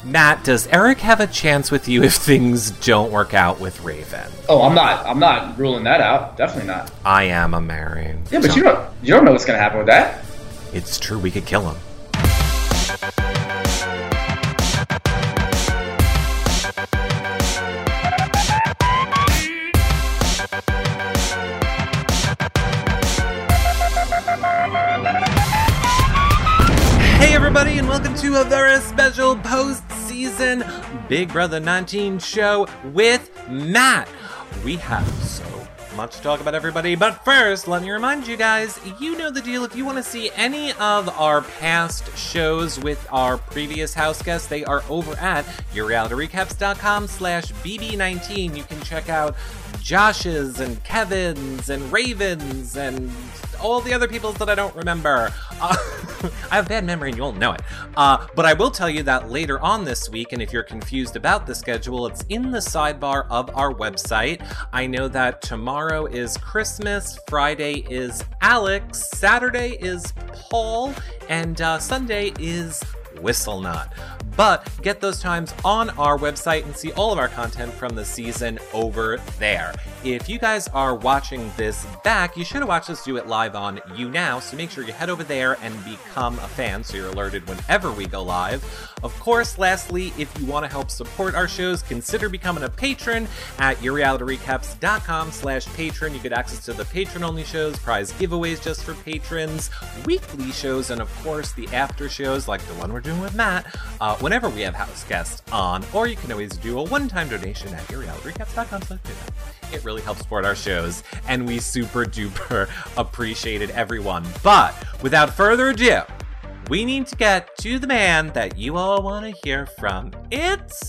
Matt, does Eric have a chance with you if things don't work out with Raven? Oh, I'm not ruling that out. Definitely not. I am a Mary. Yeah, but you don't know what's gonna happen with that. It's true, we could kill him. Hey everybody, and welcome to a very special post-season Big Brother 19 show with Matt. We have so much to talk about, everybody, but first, let me remind you guys, you know the deal. If you want to see any of our past shows with our previous house guests, they are over at yourrealityrecaps.com/BB19. You can check out Josh's and Kevin's and Raven's and all the other people's that I don't remember. I have bad memory and you won't know it. But I will tell you that later on this week, and if you're confused about the schedule, it's in the sidebar of our website. I know that tomorrow is Christmas, Friday is Alex, Saturday is Paul, and Sunday is Whistlenut. But get those times on our website and see all of our content from the season over there. If you guys are watching this back, you should have watched us do it live on YouNow, so make sure you head over there and become a fan so you're alerted whenever we go live. Of course, lastly, if you want to help support our shows, consider becoming a patron at yourrealityrecaps.com/patron. You get access to the patron-only shows, prize giveaways just for patrons, weekly shows, and of course the after shows like the one we're doing with Matt, whenever we have house guests on, or you can always do a one-time donation at yourrealityrecaps.com/patron. It really helps support our shows, and we super duper appreciate it, everyone. But without further ado, we need to get to the man that you all want to hear from. It's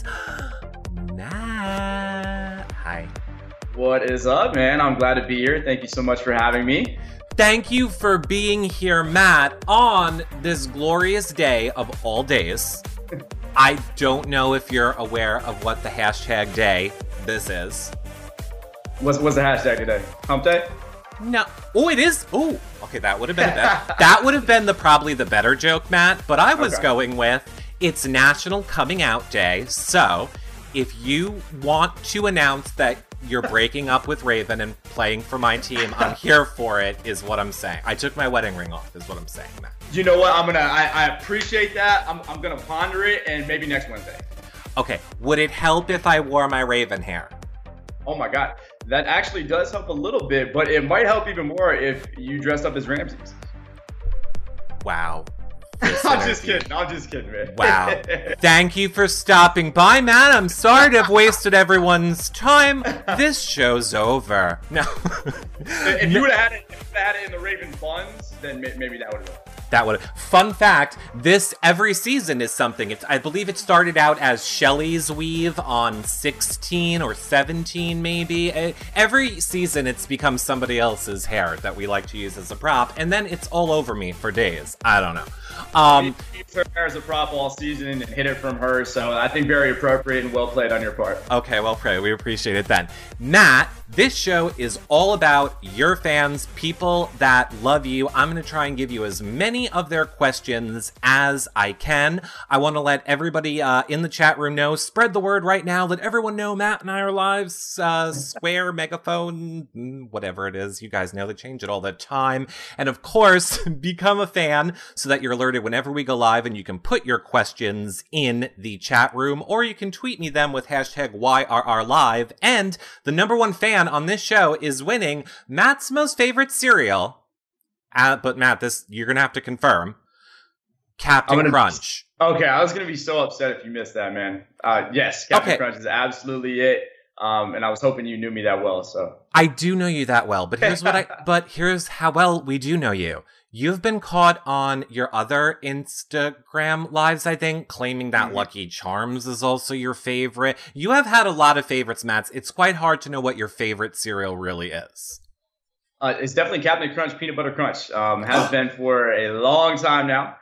Matt. Hi. What is up, man? I'm glad to be here. Thank you so much for having me. Thank you for being here, Matt, on this glorious day of all days. I don't know if you're aware of what the hashtag day this is. What's the hashtag today? Hump day? No. Oh, it is. Oh, okay. That would have been that would have been probably the better joke, Matt. But I was going with it's National Coming Out Day. So if you want to announce that you're breaking up with Raven and playing for my team, I'm here for it, is what I'm saying. I took my wedding ring off, is what I'm saying, Matt. You know what? I appreciate that. I'm gonna ponder it, and maybe next Wednesday. Okay. Would it help if I wore my Raven hair? Oh my God. That actually does help a little bit, but it might help even more if you dressed up as Ramses. Wow. I'm just kidding, man. Wow. Thank you for stopping by, Matt. I'm sorry to have wasted everyone's time. This show's over. No. If you would have had it in the Raven buns, then maybe that would have been. Fun fact, every season is something. I believe it started out as Shelly's weave on 16 or 17 maybe. Every season it's become somebody else's hair that we like to use as a prop, and then it's all over me for days. I don't know. Used her hair as a prop all season and hid it from her, so I think very appropriate and well played on your part. Okay, well played. We appreciate it then. Matt, this show is all about your fans, people that love you. I'm going to try and give you as many of their questions as I can. I want to let everybody in the chat room know, spread the word right now, let everyone know Matt and I are live, Square, Megaphone, whatever it is. You guys know they change it all the time. And of course, become a fan so that you're alerted whenever we go live, and you can put your questions in the chat room, or you can tweet me them with hashtag YRRLive. And the #1 fan on this show is winning Matt's most favorite cereal. But Matt, this you're gonna have to confirm. Captain Crunch. Okay, I was gonna be so upset if you missed that, man. Yes, Captain Crunch is absolutely it. And I was hoping you knew me that well. So I do know you that well, but here's how well we do know you. You've been caught on your other Instagram lives, I think, claiming that Lucky Charms is also your favorite. You have had a lot of favorites, Matt. It's quite hard to know what your favorite cereal really is. It's definitely Captain Crunch Peanut Butter Crunch. Has been for a long time now.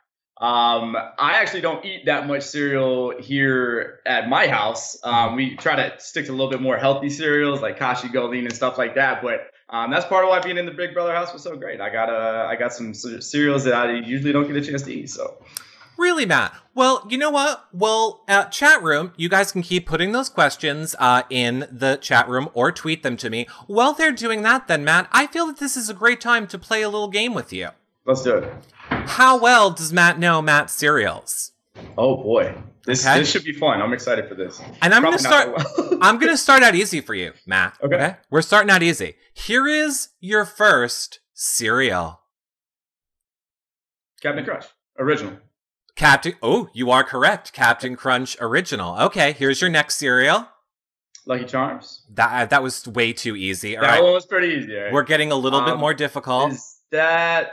I actually don't eat that much cereal here at my house. We try to stick to a little bit more healthy cereals like Kashi Goldine and stuff like that. But that's part of why being in the Big Brother house was so great. I got some cereals that I usually don't get a chance to eat. So Really, Matt? Well, you know what? Well, chat room, you guys can keep putting those questions in the chat room or tweet them to me. While they're doing that, then, Matt, I feel that this is a great time to play a little game with you. Let's do it. How well does Matt know Matt's cereals? Oh boy, this should be fun. I'm excited for this. And I'm going to start. I'm going to start out easy for you, Matt. Okay. We're starting out easy. Here is your first cereal. Captain Crunch, original. Oh, you are correct. Captain Crunch original. Okay, here's your next cereal. Lucky Charms. That was way too easy. All that right. one was pretty easy. Right? We're getting a little bit more difficult. Is that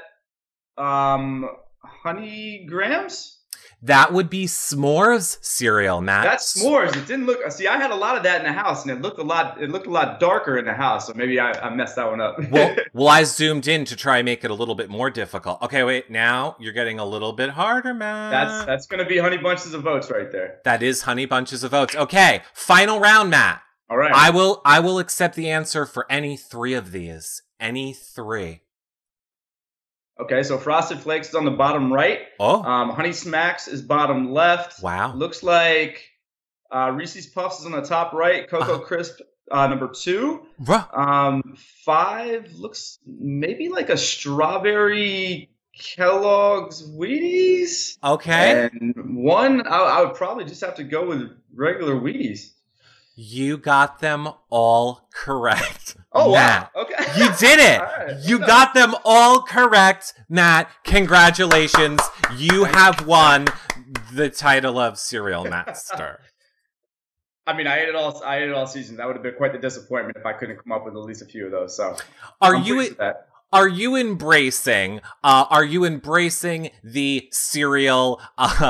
Honey Grams? That would be S'mores cereal, Matt. That's S'mores. It didn't look. See, I had a lot of that in the house, and it looked a lot darker in the house. So maybe I messed that one up. well, I zoomed in to try and make it a little bit more difficult. Okay, wait. Now you're getting a little bit harder, Matt. That's gonna be Honey Bunches of Oats right there. That is Honey Bunches of Oats. Okay, final round, Matt. All right. I will accept the answer for any three of these. Any three. Okay, so Frosted Flakes is on the bottom right. Oh. Honey Smacks is bottom left. Wow. Looks like Reese's Puffs is on the top right. Cocoa Crisp number 2. 5 looks maybe like a strawberry Kellogg's Wheaties. Okay. And 1, I would probably just have to go with regular Wheaties. You got them all correct. Oh, Matt. Wow. Okay. You did it. Right. You got them all correct, Matt. Congratulations. You have won the title of Cereal Master. I mean, I ate it all season. That would have been quite the disappointment if I couldn't come up with at least a few of those. So, Are you embracing the cereal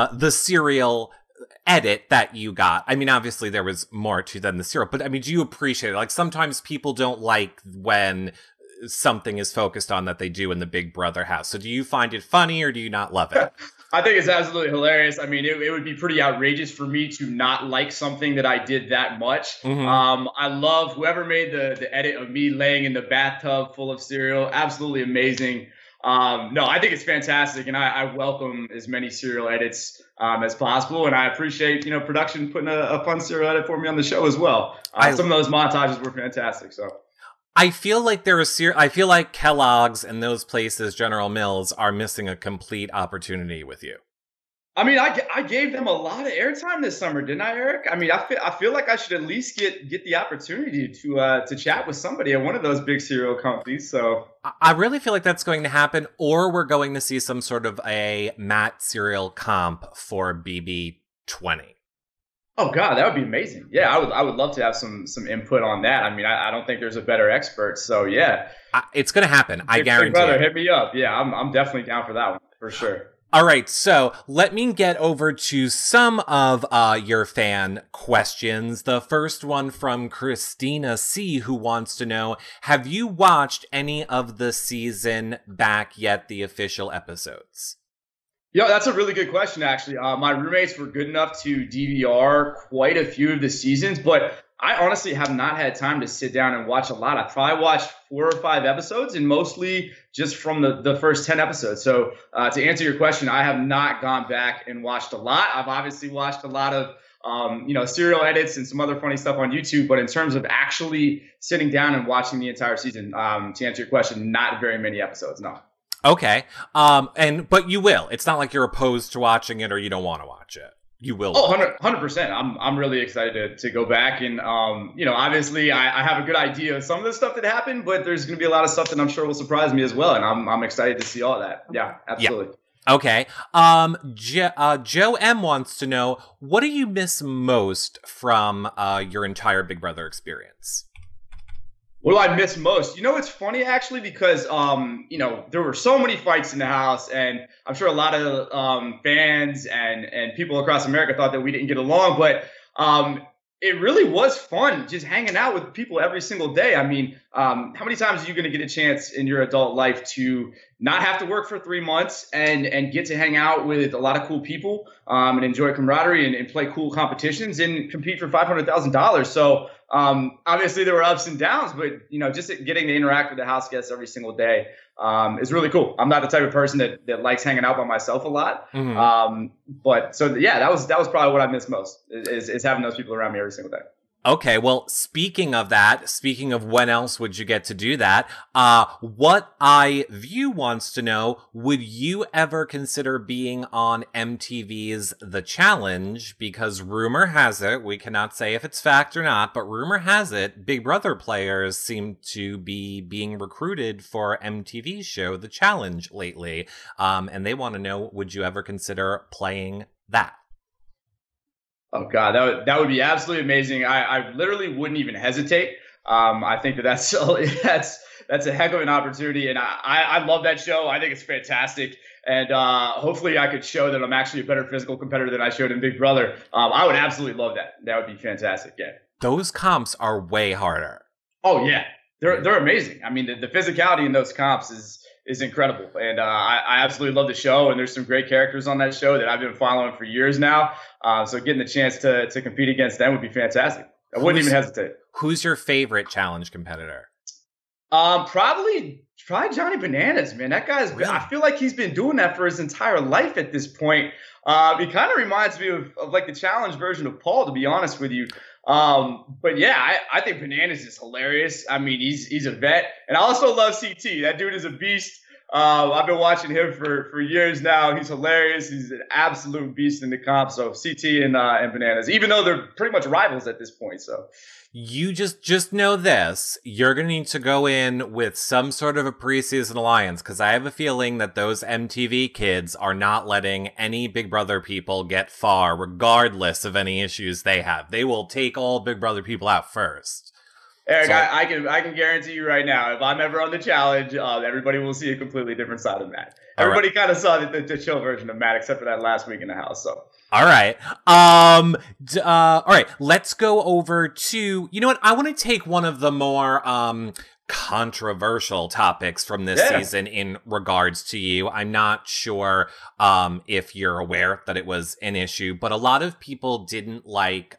edit that you got? I mean, obviously there was more to than the cereal, but I mean, do you appreciate it? Like, sometimes people don't like when something is focused on that they do in the Big Brother house. So do you find it funny or do you not love it? I think it's absolutely hilarious. I mean, it would be pretty outrageous for me to not like something that I did that much. Mm-hmm. I love whoever made the edit of me laying in the bathtub full of cereal. Absolutely amazing. No, I think it's fantastic, and I welcome as many cereal edits as possible, and I appreciate production putting a fun cereal edit for me on the show as well. Some of those montages were fantastic. So I feel like I feel like Kellogg's and those places, General Mills, are missing a complete opportunity with you. I mean, I gave them a lot of airtime this summer, didn't I, Eric? I mean, I feel like I should at least get the opportunity to chat with somebody at one of those big cereal companies. So I really feel like that's going to happen, or we're going to see some sort of a Matt cereal comp for BB20. Oh God, that would be amazing. Yeah, I would love to have some input on that. I mean, I don't think there's a better expert. So yeah, it's going to happen. I guarantee. Brother, hit me up. Yeah, I'm definitely down for that one for sure. All right, so let me get over to some of your fan questions. The first one from Christina C., who wants to know, have you watched any of the season back yet, the official episodes? Yeah, that's a really good question, actually. My roommates were good enough to DVR quite a few of the seasons, but I honestly have not had time to sit down and watch a lot. I probably watched 4 or 5 episodes, and mostly just from the first 10 episodes. So to answer your question, I have not gone back and watched a lot. I've obviously watched a lot of serial edits and some other funny stuff on YouTube, but in terms of actually sitting down and watching the entire season, to answer your question, not very many episodes, no. Okay. But you will. It's not like you're opposed to watching it or you don't want to watch it. You will. Oh, 100%. I'm really excited to go back. And, obviously I have a good idea of some of the stuff that happened, but there's going to be a lot of stuff that I'm sure will surprise me as well. And I'm excited to see all that. Yeah, absolutely. Yeah. Okay. Joe M wants to know, what do you miss most from your entire Big Brother experience? What do I miss most? It's funny, actually, because, there were so many fights in the house, and I'm sure a lot of fans and people across America thought that we didn't get along, but it really was fun just hanging out with people every single day. I mean, how many times are you going to get a chance in your adult life to not have to work for 3 months and get to hang out with a lot of cool people and enjoy camaraderie and play cool competitions and compete for $500,000? So obviously there were ups and downs, but just getting to interact with the house guests every single day is really cool. I'm not the type of person that likes hanging out by myself a lot. But so yeah, that was probably what I miss most is having those people around me every single day. Okay, well, speaking of when else would you get to do that, what iView wants to know, would you ever consider being on MTV's The Challenge? Because rumor has it, we cannot say if it's fact or not, but rumor has it, Big Brother players seem to be being recruited for MTV's show, The Challenge, lately. And they want to know, would you ever consider playing that? Oh God, that would be absolutely amazing. I literally wouldn't even hesitate. I think that's a heck of an opportunity, and I love that show. I think it's fantastic, and hopefully I could show that I'm actually a better physical competitor than I showed in Big Brother. I would absolutely love that. That would be fantastic. Yeah, those comps are way harder. Oh yeah, they're amazing. I mean, the physicality in those comps is incredible. And I absolutely love the show. And there's some great characters on that show that I've been following for years now. So getting the chance to compete against them would be fantastic. I wouldn't even hesitate. Who's your favorite challenge competitor? Probably Johnny Bananas, man. That guy's really? I feel like he's been doing that for his entire life at this point. He kind of reminds me of like the challenge version of Paul, to be honest with you. But yeah, I think Bananas is hilarious. I mean, he's a vet, and I also love CT. That dude is a beast. I've been watching him for years now. He's hilarious. He's an absolute beast in the comp. So CT and Bananas, even though they're pretty much rivals at this point. So you just know this. You're going to need to go in with some sort of a preseason alliance, because I have a feeling that those MTV kids are not letting any Big Brother people get far, regardless of any issues they have. They will take all Big Brother people out first. Eric, so, I can guarantee you right now, if I'm ever on the challenge, everybody will see a completely different side of Matt. Everybody kind of saw the chill version of Matt, except for that last week in the house. So. All right. All right. Let's go over to, you know what? I want to take one of the more controversial topics from this season in regards to you. I'm not sure if you're aware that it was an issue, but a lot of people didn't like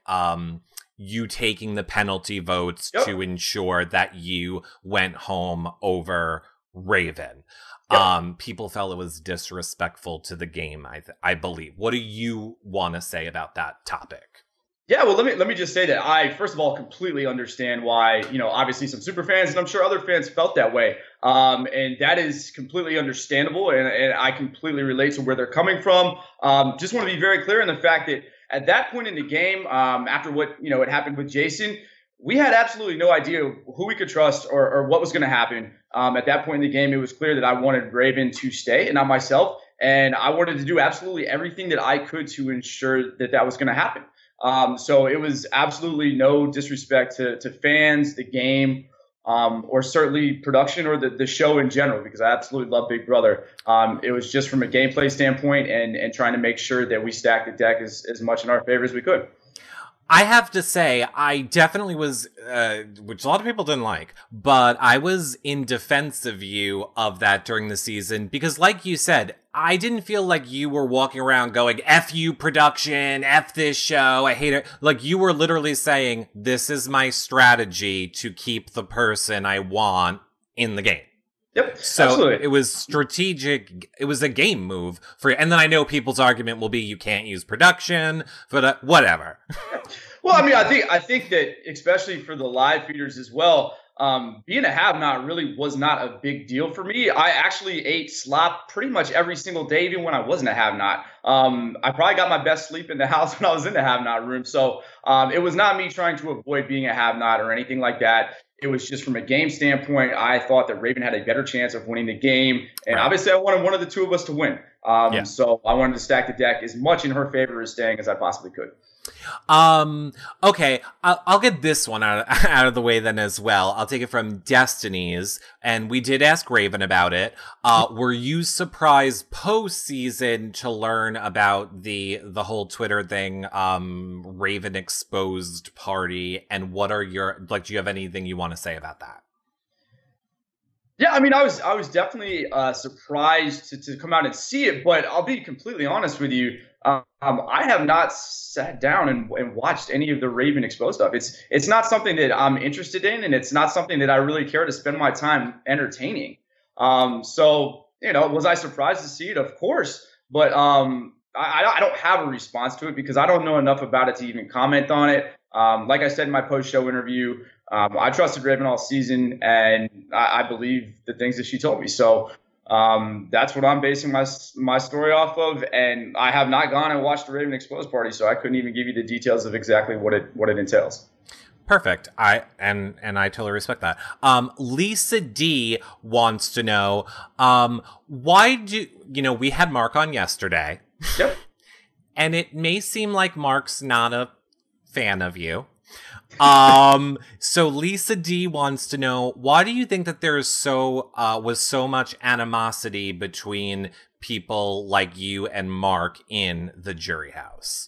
you taking the penalty votes to ensure that you went home over Raven. People felt it was disrespectful to the game, I believe. What do you want to say about that topic? Yeah, well, let me just say that I, first of all, completely understand why, obviously some super fans, and I'm sure other fans felt that way. And that is completely understandable, and I completely relate to where they're coming from. Just want to be very clear in the fact that at that point in the game, after what, had happened with Jason, we had absolutely no idea who we could trust or what was going to happen. At that point in the game, it was clear that I wanted Raven to stay and not myself. And I wanted to do absolutely everything that I could to ensure that was going to happen. So it was absolutely no disrespect to fans, the game, or certainly production or the show in general, because I absolutely love Big Brother. It was just from a gameplay standpoint and trying to make sure that we stacked the deck as much in our favor as we could. I have to say, I definitely was, which a lot of people didn't like, but I was in defense of you of that during the season, because like you said, I didn't feel like you were walking around going, F you production, F this show, I hate it. Like, you were literally saying, this is my strategy to keep the person I want in the game. Yep, so absolutely. It was strategic. It was a game move for, and then I know people's argument will be you can't use production, but whatever. Well, I mean, I think that especially for the live feeders as well, being a have-not really was not a big deal for me. I actually ate slop pretty much every single day, even when I wasn't a have-not. I probably got my best sleep in the house when I was in the have-not room. So it was not me trying to avoid being a have-not or anything like that. It was just from a game standpoint, I thought that Raven had a better chance of winning the game. And obviously I wanted one of the two of us to win. So I wanted to stack the deck as much in her favor as staying as I possibly could. Okay, I'll get this one out of the way then as well. I'll take it from Destiny's, and we did ask Raven about it. Were you surprised post-season to learn about the whole Twitter thing, Raven exposed party, and what are your, do you have anything you want to say about that? Yeah, I mean, I was definitely surprised to come out and see it, but I'll be completely honest with you. I have not sat down and watched any of the Raven Exposed stuff. It's not something that I'm interested in, and it's not something that I really care to spend my time entertaining. So was I surprised to see it? Of course, but I don't have a response to it because I don't know enough about it to even comment on it. Like I said in my post-show interview, I trusted Raven all season, and I believe the things that she told me. So that's what I'm basing my story off of. And I have not gone and watched the Raven Exposed party, so I couldn't even give you the details of exactly what it entails. Perfect. I totally respect that. Lisa D wants to know, why do we had Mark on yesterday. Yep. And it may seem like Mark's not a fan of you. So Lisa D wants to know, why do you think that there's was so much animosity between people like you and Mark in the Jury House?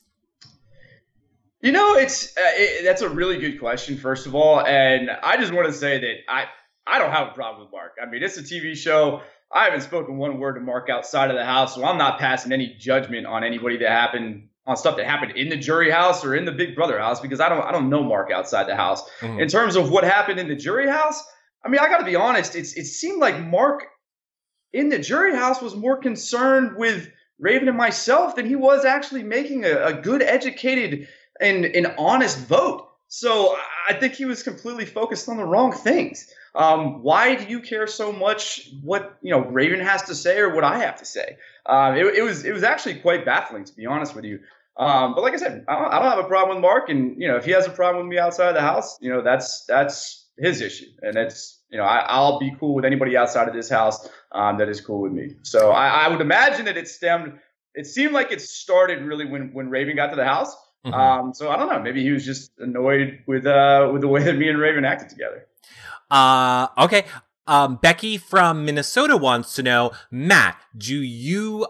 That's a really good question, first of all, and I just want to say that I don't have a problem with Mark. I mean, it's a TV show. I haven't spoken one word to Mark outside of the house, so I'm not passing any judgment on anybody on stuff that happened in the Jury House or in the Big Brother house, because I don't know Mark outside the house. Mm-hmm. In terms of what happened in the Jury House, I mean, I got to be honest. It seemed like Mark in the Jury House was more concerned with Raven and myself than he was actually making a good, educated and honest vote. So I think he was completely focused on the wrong things. Why do you care so much what Raven has to say or what I have to say? It was actually quite baffling, to be honest with you. But like I said, I don't have a problem with Mark, and if he has a problem with me outside of the house, that's his issue, and it's I'll be cool with anybody outside of this house that is cool with me. So I would imagine that it seemed like it started really when Raven got to the house. Mm-hmm. So I don't know. Maybe he was just annoyed with the way that me and Raven acted together. Okay. Becky from Minnesota wants to know, Matt, do you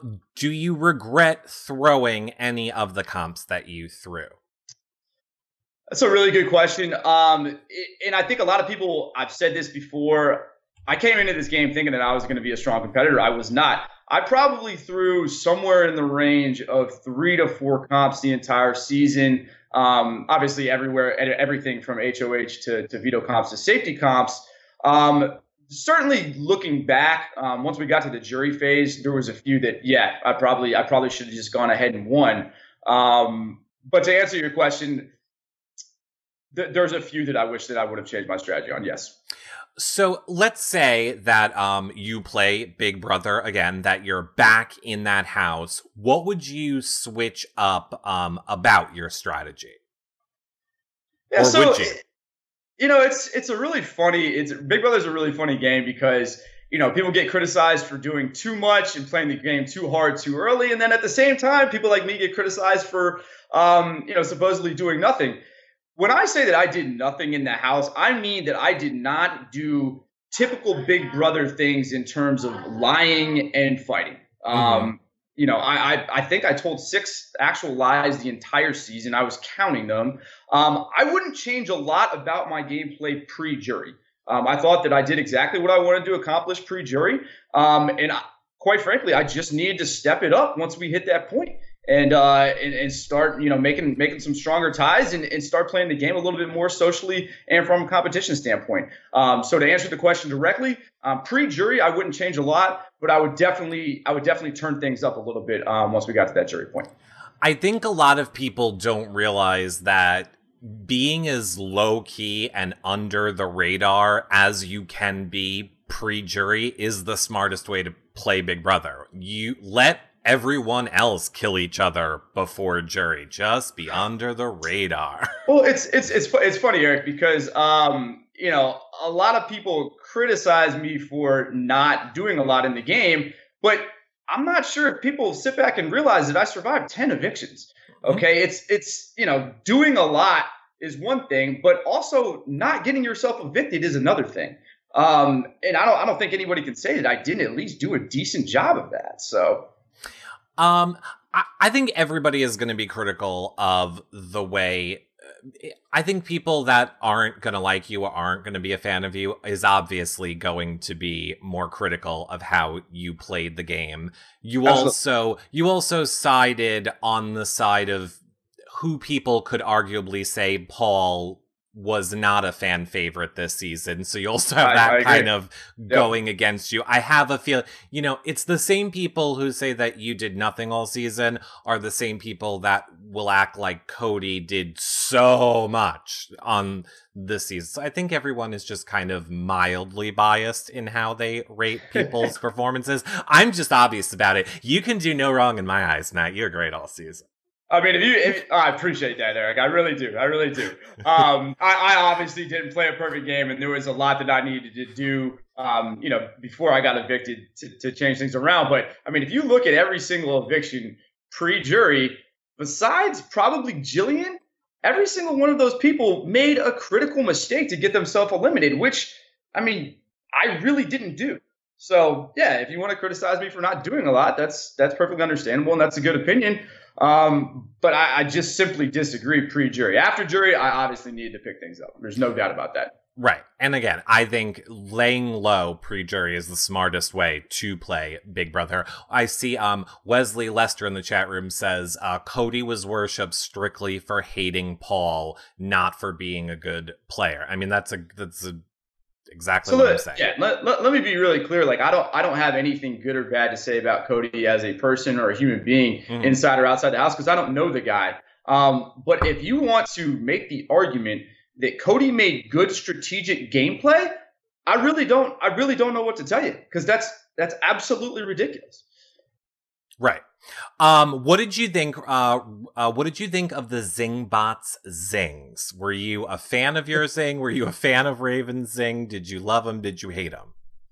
regret throwing any of the comps that you threw? That's a really good question. And I think a lot of people, I've said this before, I came into this game thinking that I was going to be a strong competitor. I was not. I probably threw somewhere in the range of 3 to 4 comps the entire season. Obviously everywhere, everything from HOH to veto comps to safety comps. Certainly looking back, once we got to the jury phase, there was a few that, I probably should have just gone ahead and won. But to answer your question, there's a few that I wish that I would have changed my strategy on. Yes. So let's say that you play Big Brother again, that you're back in that house. What would you switch up about your strategy? Yeah, or so would you? It's a really funny. Big Brother's a really funny game because people get criticized for doing too much and playing the game too hard too early, and then at the same time, people like me get criticized for supposedly doing nothing. When I say that I did nothing in the house, I mean that I did not do typical Big Brother things in terms of lying and fighting. Mm-hmm. I think I told 6 actual lies the entire season. I was counting them. I wouldn't change a lot about my gameplay pre-jury. I thought that I did exactly what I wanted to accomplish pre-jury. Quite frankly, I just needed to step it up once we hit that point. And start making some stronger ties and start playing the game a little bit more socially and from a competition standpoint. So to answer the question directly, pre-jury I wouldn't change a lot, but I would definitely turn things up a little bit once we got to that jury point. I think a lot of people don't realize that being as low key and under the radar as you can be pre-jury is the smartest way to play Big Brother. You let everyone else kill each other before jury. Just be under the radar. Well, it's funny, Eric, because a lot of people criticize me for not doing a lot in the game, but I'm not sure if people sit back and realize that I survived 10 evictions. Okay, mm-hmm. It's doing a lot is one thing, but also not getting yourself evicted is another thing. And I don't think anybody can say that I didn't at least do a decent job of that. So. I think everybody is going to be critical of the way I think people that aren't going to like you or aren't going to be a fan of you is obviously going to be more critical of how you played the game. You also sided on the side of who people could arguably say Paul was not a fan favorite this season. So you also have that kind of going against you. I have a feel, it's the same people who say that you did nothing all season are the same people that will act like Cody did so much on this season. So I think everyone is just kind of mildly biased in how they rate people's performances. I'm just obvious about it. You can do no wrong in my eyes, Matt. You're great all season. I mean, I appreciate that, Eric. I really do. I obviously didn't play a perfect game, and there was a lot that I needed to do, before I got evicted to change things around. But I mean, if you look at every single eviction pre-jury, besides probably Jillian, every single one of those people made a critical mistake to get themselves eliminated, which, I mean, I really didn't do. So yeah, if you want to criticize me for not doing a lot, that's perfectly understandable, and that's a good opinion. But I just simply disagree pre-jury. After jury, I obviously needed to pick things up. There's no doubt about that. Right. And again, I think laying low pre-jury is the smartest way to play Big Brother. I see Wesley Lester in the chat room says Cody was worshipped strictly for hating Paul, not for being a good player. I mean, that's exactly what I'm saying. Yeah, let me be really clear. Like, I don't have anything good or bad to say about Cody as a person or a human being, inside or outside the house, because I don't know the guy. But if you want to make the argument that Cody made good strategic gameplay, I really don't know what to tell you, because that's absolutely ridiculous. Right. What did you think? What did you think of the Zingbots zings? Were you a fan of your zing? Were you a fan of Raven's zing? Did you love them? Did you hate them?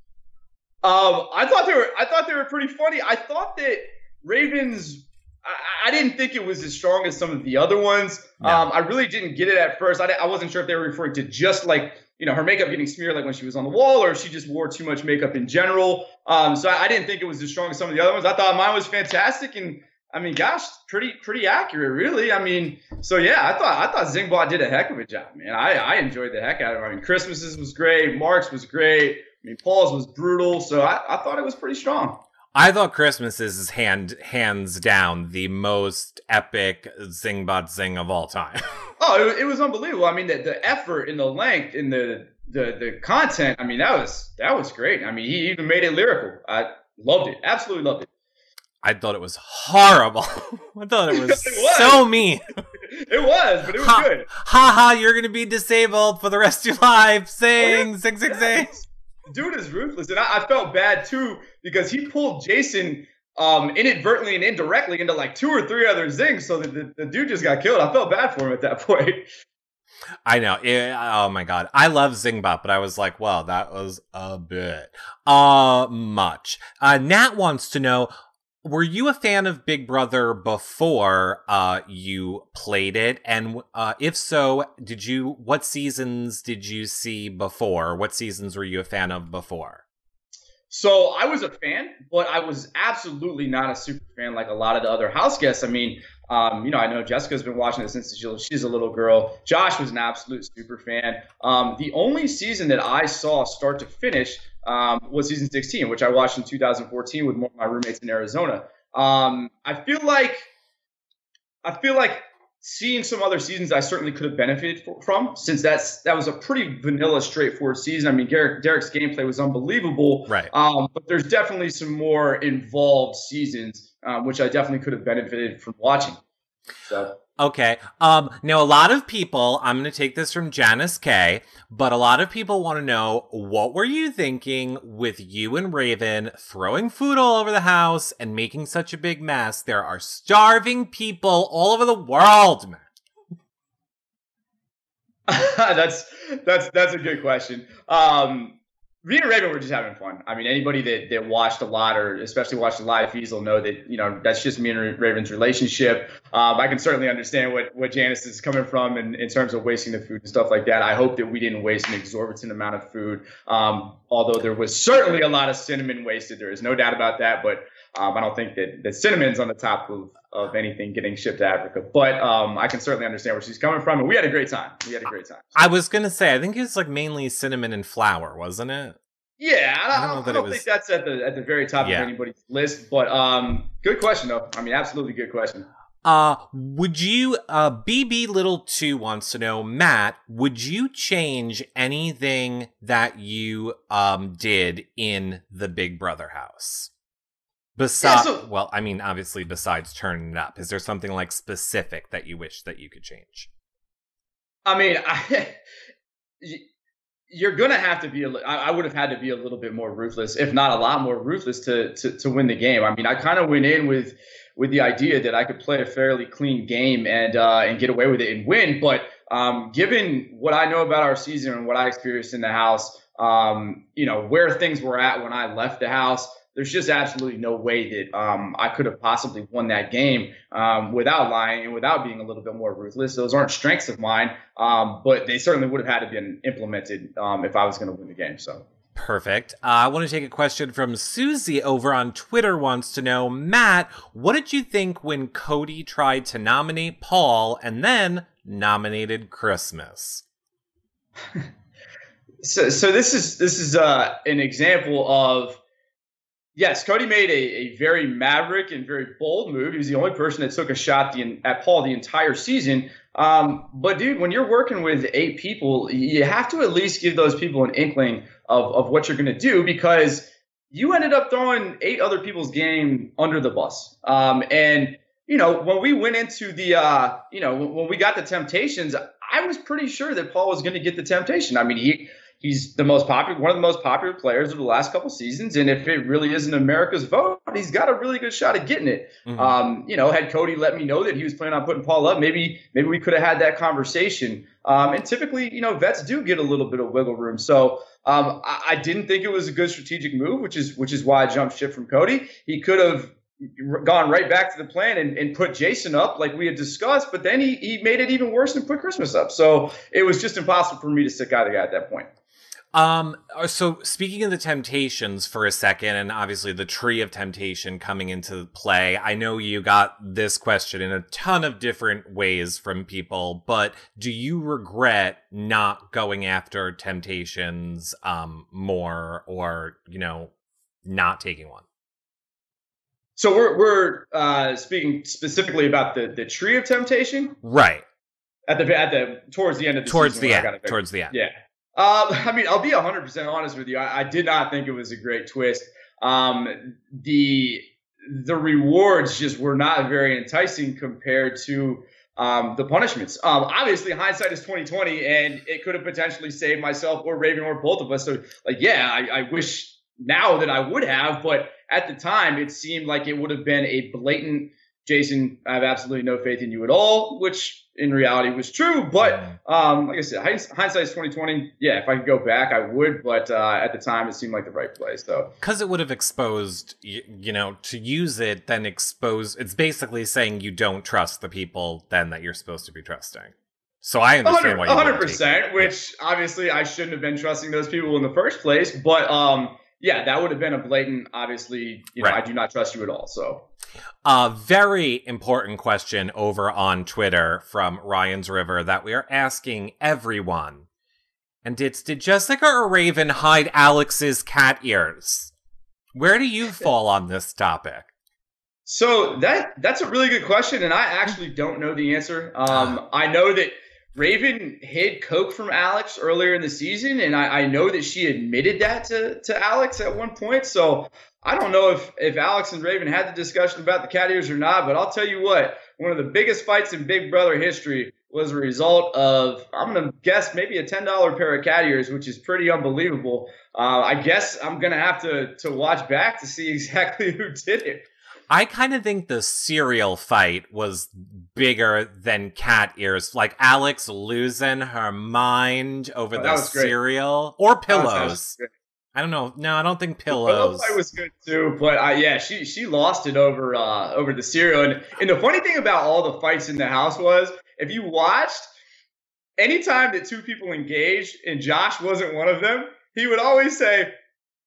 I thought they were pretty funny. I thought that Raven's. I didn't think it was as strong as some of the other ones. No. I really didn't get it at first. I wasn't sure if they were referring to just like, her makeup getting smeared like when she was on the wall, or if she just wore too much makeup in general. So I didn't think it was as strong as some of the other ones. I thought mine was fantastic, and I mean, gosh, pretty accurate, really. I mean, so yeah, I thought Zingbot did a heck of a job, man. I enjoyed the heck out of it. I mean, Christmas's was great, Mark's was great. I mean, Paul's was brutal. So I thought it was pretty strong. I thought Christmas's is hands down the most epic Zingbot zing of all time. Oh, it was unbelievable. I mean, the effort and the length and the content. I mean, that was great. I mean, he even made it lyrical. I loved it. Absolutely loved it. I thought it was horrible. I thought it was so mean. It was, but it was good. Ha, you're going to be disabled for the rest of your life. Sing. Dude is ruthless. And I felt bad, too, because he pulled Jason inadvertently and indirectly into like 2 or 3 other zings, so that the dude just got killed. I felt bad for him at that point. I know. Oh my God. I love Zingbot, but I was like, well, that was a bit much. Nat wants to know, were you a fan of Big Brother before you played it? And if so, what seasons did you see before? What seasons were you a fan of before? So I was a fan, but I was absolutely not a super fan like a lot of the other house guests. I mean, I know Jessica's been watching it since she's a little girl. Josh was an absolute super fan. The only season that I saw start to finish was season 16, which I watched in 2014 with one of my roommates in Arizona. I feel like seeing some other seasons I certainly could have benefited from, since that was a pretty vanilla, straightforward season. I mean, Derek's gameplay was unbelievable, right? But there's definitely some more involved seasons, which I definitely could have benefited from watching. So. Okay. Now a lot of people, I'm going to take this from Janice K, but a lot of people want to know, what were you thinking with you and Raven throwing food all over the house and making such a big mess? There are starving people all over the world, man. That's a good question. Me and Raven were just having fun. I mean, anybody that watched a lot, or especially watched the live feeds, will know that, that's just me and Raven's relationship. I can certainly understand what Janice is coming from in terms of wasting the food and stuff like that. I hope that we didn't waste an exorbitant amount of food, although there was certainly a lot of cinnamon wasted. There is no doubt about that. But I don't think that Cinnamon's on the top of anything getting shipped to Africa. But I can certainly understand where she's coming from. And we had a great time. I was going to say, I think it's like mainly cinnamon and flour, wasn't it? Yeah, I don't think that's at the very top of anybody's list. But good question, though. I mean, absolutely good question. Would you, BB Little 2 wants to know, Matt, would you change anything that you, did in the Big Brother house? Well, I mean, obviously, besides turning it up, is there something like specific that you wish that you could change? I mean, you're going to have to be, I would have had to be a little bit more ruthless, if not a lot more ruthless to win the game. I mean, I kind of went in with the idea that I could play a fairly clean game and get away with it and win. But given what I know about our season and what I experienced in the house, where things were at when I left the house, there's just absolutely no way that I could have possibly won that game without lying and without being a little bit more ruthless. Those aren't strengths of mine, but they certainly would have had to been implemented if I was going to win the game. So. Perfect. I want to take a question from Susie over on Twitter wants to know, Matt, what did you think when Cody tried to nominate Paul and then nominated Christmas? So this is an example of, yes, Cody made a very maverick and very bold move. He was the only person that took a shot at Paul the entire season. But dude, when you're working with 8 people, you have to at least give those people an inkling of what you're going to do, because you ended up throwing 8 other people's game under the bus. And when we went into the, when we got the Temptations, I was pretty sure that Paul was going to get the Temptation. I mean, he's one of the most popular players of the last couple seasons. And if it really isn't America's vote, he's got a really good shot at getting it. Mm-hmm. Had Cody let me know that he was planning on putting Paul up, maybe we could have had that conversation. And typically, vets do get a little bit of wiggle room. So I didn't think it was a good strategic move, which is why I jumped ship from Cody. He could have gone right back to the plan and put Jason up like we had discussed, but then he made it even worse and put Christmas up. So it was just impossible for me to stick out the guy at that point. So speaking of the Temptations for a second, and obviously the Tree of Temptation coming into play, I know you got this question in a ton of different ways from people, but do you regret not going after Temptations, more, or, not taking one? So we're speaking specifically about the Tree of Temptation? Right. Towards the end of the season. Towards the end. Yeah. I mean, I'll be 100% honest with you. I did not think it was a great twist. The rewards just were not very enticing compared to the punishments. Obviously, hindsight is 2020, and it could have potentially saved myself or Raven or both of us. So, I wish now that I would have, but at the time, it seemed like it would have been a blatant, Jason, I have absolutely no faith in you at all, which in reality was true. But like I said, hindsight is 2020. Yeah, if I could go back, I would. But at the time, it seemed like the right play. So because it would have exposed, to use it, then expose. It's basically saying you don't trust the people then that you're supposed to be trusting. So I understand why you 100%, which obviously I shouldn't have been trusting those people in the first place. But yeah, that would have been a blatant, obviously, right. I do not trust you at all. So. Very important question over on Twitter from Ryan's River that we are asking everyone. And it's, did Jessica or Raven hide Alex's cat ears? Where do you fall on this topic? So that's a really good question, and I actually don't know the answer. I know that Raven hid coke from Alex earlier in the season, and I know that she admitted that to Alex at one point. So I don't know if Alex and Raven had the discussion about the cat ears or not, but I'll tell you what, one of the biggest fights in Big Brother history was a result of, I'm going to guess, maybe a $10 pair of cat ears, which is pretty unbelievable. I guess I'm going to have to watch back to see exactly who did it. I kind of think the cereal fight was bigger than cat ears. Like Alex losing her mind over the cereal or pillows. I don't know. No, I don't think pillows. The fight was good too, but yeah, she lost it over the cereal. And the funny thing about all the fights in the house was, if you watched, anytime that two people engaged and Josh wasn't one of them, he would always say,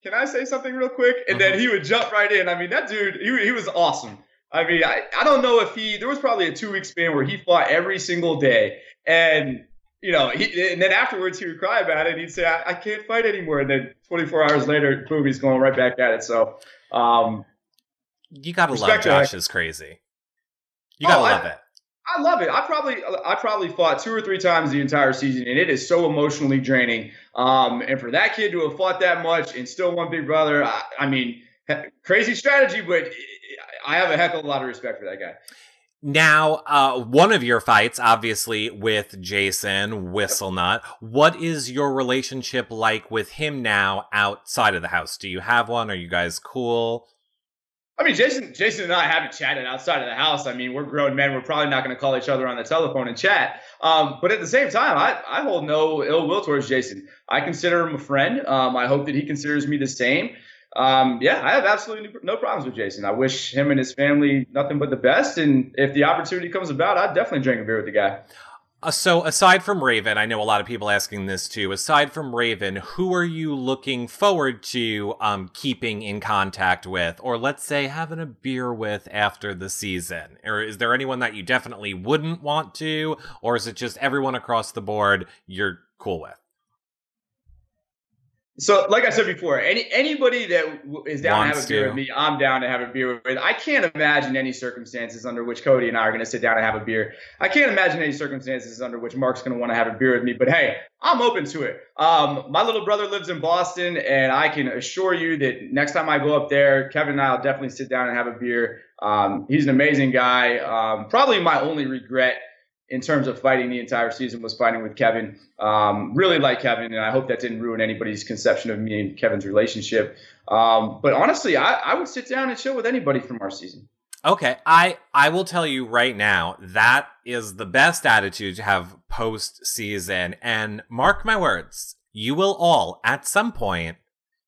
can I say something real quick? And then he would jump right in. I mean, that dude, he was awesome. I mean, I don't know if there was probably a 2-week span where he fought every single day. And, you know, and then afterwards he would cry about it. And he'd say, I can't fight anymore. And then 24 hours later, boom, he's going right back at it. So, you got to love Josh is crazy. You got to love it. I love it. I probably fought 2 or 3 times the entire season, and it is so emotionally draining. And for that kid to have fought that much and still won Big Brother, I mean, crazy strategy, but I have a heck of a lot of respect for that guy. Now, one of your fights, obviously, with Jason Whistlenut. What is your relationship like with him now outside of the house? Do you have one? Are you guys cool? I mean, Jason and I haven't chatted outside of the house. I mean, we're grown men. We're probably not going to call each other on the telephone and chat. But at the same time, I hold no ill will towards Jason. I consider him a friend. I hope that he considers me the same. Yeah, I have absolutely no problems with Jason. I wish him and his family nothing but the best. And if the opportunity comes about, I'd definitely drink a beer with the guy. So aside from Raven, I know a lot of people asking this too. Aside from Raven, who are you looking forward to keeping in contact with, or let's say having a beer with after the season? Or is there anyone that you definitely wouldn't want to, or is it just everyone across the board you're cool with? So, like I said before, anybody that is down to have a beer with me, I'm down to have a beer with. I can't imagine any circumstances under which Cody and I are going to sit down and have a beer. I can't imagine any circumstances under which Mark's going to want to have a beer with me. But hey, I'm open to it. My little brother lives in Boston, and I can assure you that next time I go up there, Kevin and I will definitely sit down and have a beer. He's an amazing guy. Probably my only regret in terms of fighting the entire season was fighting with Kevin. Really like Kevin, and I hope that didn't ruin anybody's conception of me and Kevin's relationship. But honestly, I would sit down and chill with anybody from our season. Okay, I will tell you right now, that is the best attitude to have post-season. And mark my words, you will all, at some point,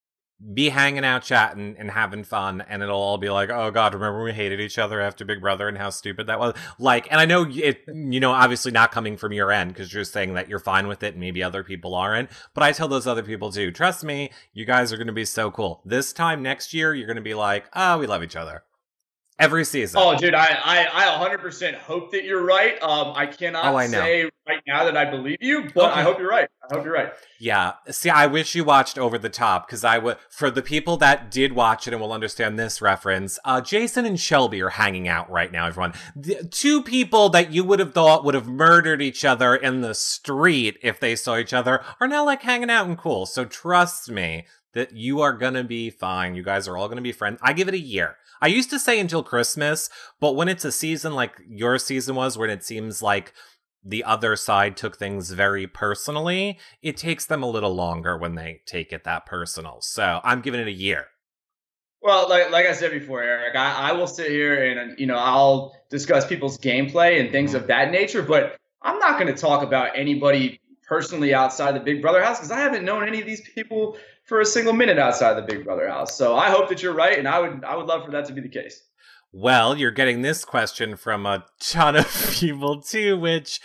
be hanging out, chatting, and having fun, and it'll all be like, oh god, remember we hated each other after Big Brother and how stupid that was? Like, and I know it, you know, obviously not coming from your end, because you're saying that you're fine with it, and maybe other people aren't, but I tell those other people too, trust me, you guys are going to be so cool. This time next year, you're going to be like, oh, we love each other. Every season. Oh, dude, I 100% hope that you're right. I cannot say right now that I believe you, but okay. I hope you're right. I hope you're right. Yeah. See, I wish you watched Over the Top, because for the people that did watch it and will understand this reference, Jason and Shelby are hanging out right now, everyone. The 2 people that you would have thought would have murdered each other in the street if they saw each other are now like hanging out and cool. So trust me that you are going to be fine. You guys are all going to be friends. I give it a year. I used to say until Christmas, but when it's a season like your season was, when it seems like the other side took things very personally, it takes them a little longer when they take it that personal. So I'm giving it a year. Well, like I said before, Eric, I will sit here and, you know, I'll discuss people's gameplay and things of that nature, but I'm not going to talk about anybody personally outside the Big Brother house, because I haven't known any of these people for a single minute outside the Big Brother house. So I hope that you're right, and I would love for that to be the case. Well, you're getting this question from a ton of people too, which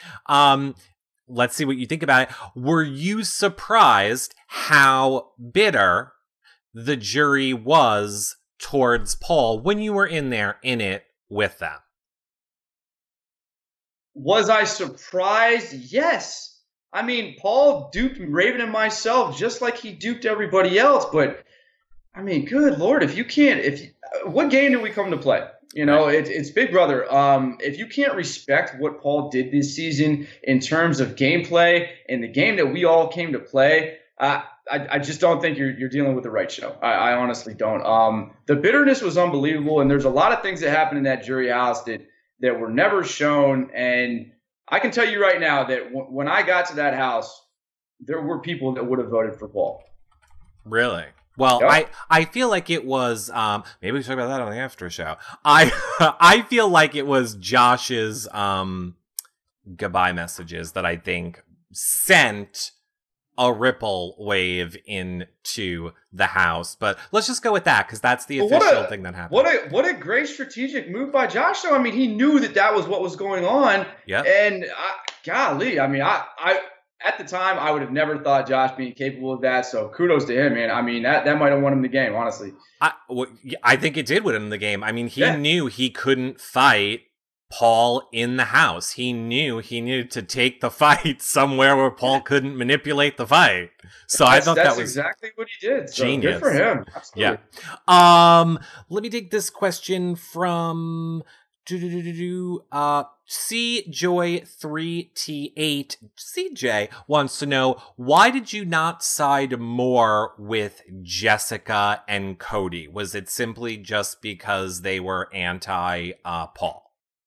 let's see what you think about it. Were you surprised how bitter the jury was towards Paul when you were in it with them? Was I surprised? Yes. I mean, Paul duped Raven and myself just like he duped everybody else. But I mean, good Lord, what game did we come to play? You know, it's Big Brother. If you can't respect what Paul did this season in terms of gameplay and the game that we all came to play, I just don't think you're dealing with the right show. I honestly don't. The bitterness was unbelievable, and there's a lot of things that happened in that jury house that were never shown. And I can tell you right now that when I got to that house, there were people that would have voted for Paul. Really? Well, yep. I feel like it was, maybe we talk about that on the after show. I feel like it was Josh's goodbye messages that I think sent a ripple wave into the house. But let's just go with that, because that's the official thing that happened. What a great strategic move by Josh, though. I mean, he knew that was what was going on. Yeah. And golly, I mean, at the time, I would have never thought Josh being capable of that. So kudos to him, man. I mean, that might have won him the game, honestly. I think it did win him the game. I mean, he Yeah. knew he couldn't fight Paul in the house. He knew he needed to take the fight somewhere where Paul couldn't manipulate the fight. So I thought that was exactly what he did. So genius. Good for him. Absolutely. Yeah. Let me take this question from C Joy 3T8. CJ wants to know, why did you not side more with Jessica and Cody? Was it simply just because they were anti Paul?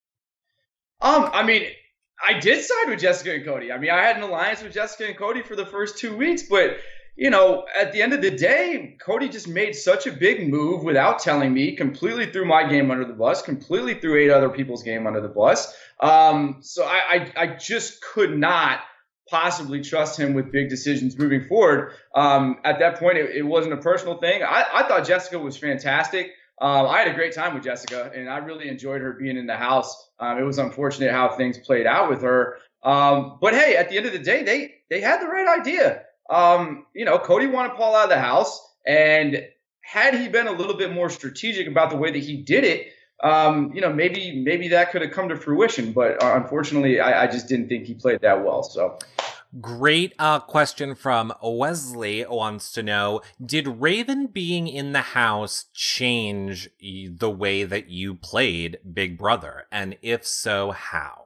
I mean, I did side with Jessica and Cody. I mean, I had an alliance with Jessica and Cody for the first 2 weeks, but you know, at the end of the day, Cody just made such a big move without telling me, completely threw my game under the bus, completely threw 8 other people's game under the bus. So I just could not possibly trust him with big decisions moving forward. At that point, it wasn't a personal thing. I thought Jessica was fantastic. I had a great time with Jessica, and I really enjoyed her being in the house. It was unfortunate how things played out with her. But hey, at the end of the day, they had the right idea. You know, Cody wanted Paul out of the house, and had he been a little bit more strategic about the way that he did it, you know, maybe that could have come to fruition. But unfortunately, I just didn't think he played that well. So. Great question from Wesley wants to know, did Raven being in the house change the way that you played Big Brother? And if so, how?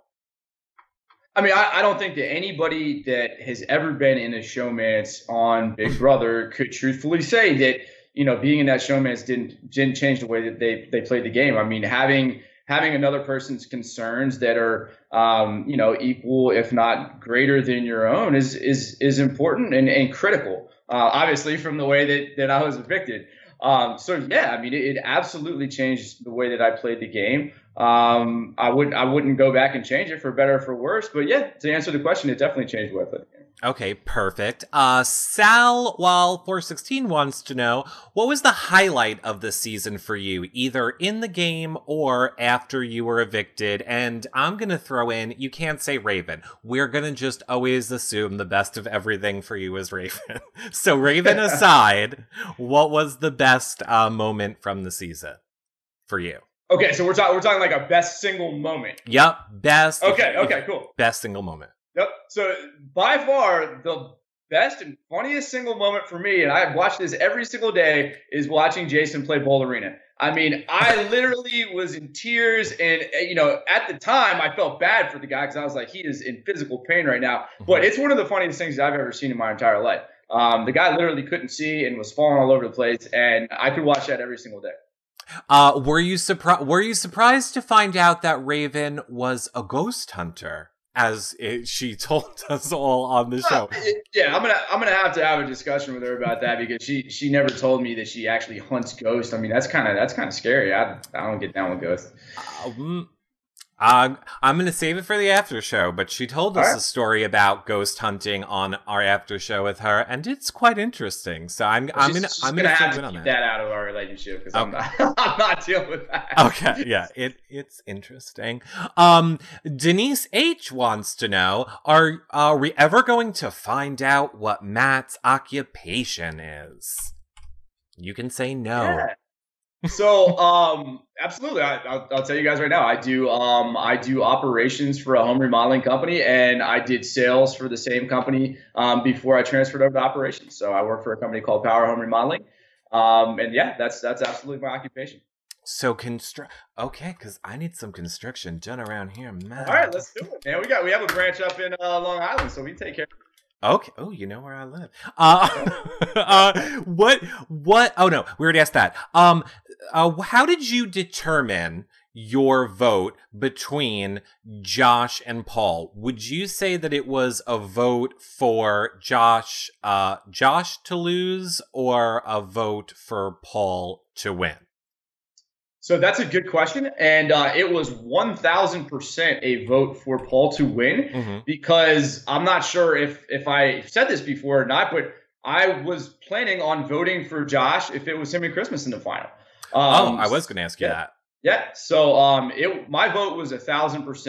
I mean, I don't think that anybody that has ever been in a showmance on Big Brother could truthfully say that, you know, being in that showmance didn't change the way that they played the game. I mean, having another person's concerns that are, you know, equal, if not greater than your own is important and critical, obviously, from the way that I was evicted. So, yeah, I mean, it absolutely changed the way that I played the game. I wouldn't go back and change it for better or for worse. But, yeah, to answer the question, it definitely changed the way I played the game. Okay, perfect. Sal, while 416 wants to know, what was the highlight of the season for you, either in the game or after you were evicted? And I'm going to throw in, you can't say Raven. We're going to just always assume the best of everything for you is Raven. So Raven aside, what was the best moment from the season for you? Okay, so we're talking like a best single moment. Yep, best. Okay, cool. Best single moment. Yep. So by far the best and funniest single moment for me, and I watch this every single day, is watching Jason play Bowl Arena. I mean, I literally was in tears, and you know, at the time, I felt bad for the guy because I was like, he is in physical pain right now. But it's one of the funniest things I've ever seen in my entire life. The guy literally couldn't see and was falling all over the place, and I could watch that every single day. Were you surprised to find out that Raven was a ghost hunter? As she told us all on the show. Yeah, I'm gonna have to have a discussion with her about that because she never told me that she actually hunts ghosts. I mean, that's kind of scary. I don't get down with ghosts. I'm going to save it for the after show, but she told us a story about ghost hunting on our after show with her, and it's quite interesting. So I'm going to have to keep that out of our relationship because I'm not dealing with that. Okay, yeah, it's interesting. Denise H wants to know, are we ever going to find out what Matt's occupation is? You can say no. Yeah. So, absolutely. I'll tell you guys right now. I do operations for a home remodeling company, and I did sales for the same company before I transferred over to operations. So I work for a company called Power Home Remodeling, and yeah, that's absolutely my occupation. So okay, because I need some construction done around here, man. All right, let's do it, man. We have a branch up in Long Island, so we take care of it. Okay. Oh, you know where I live. What? Oh no, we already asked that. How did you determine your vote between Josh and Paul? Would you say that it was a vote for Josh to lose, or a vote for Paul to win? So that's a good question. And it was 1,000% a vote for Paul to win, because I'm not sure if I said this before or not, but I was planning on voting for Josh if it was him and Christmas in the final. I was going to ask you that. Yeah. So my vote was 1,000%.